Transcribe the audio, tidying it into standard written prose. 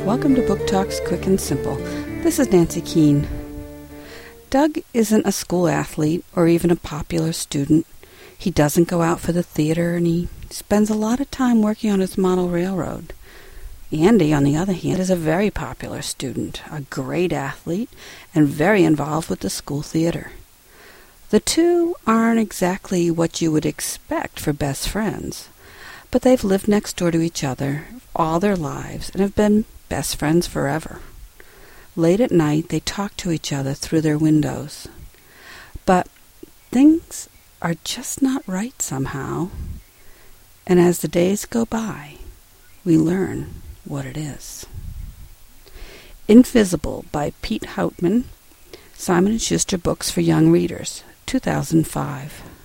Welcome to Book Talks Quick and Simple. This is Nancy Keene. Doug isn't a school athlete or even a popular student. He doesn't go out for the theater, and he spends a lot of time working on his model railroad. Andy, on the other hand, is a very popular student, a great athlete, and very involved with the school theater. The two aren't exactly what you would expect for best friends, but they've lived next door to each other all their lives and have been best friends forever. Late at night, they talk to each other through their windows. But things are just not right somehow, and as the days go by, we learn what it is. Invisible by Pete Houtman, Simon & Schuster Books for Young Readers, 2005.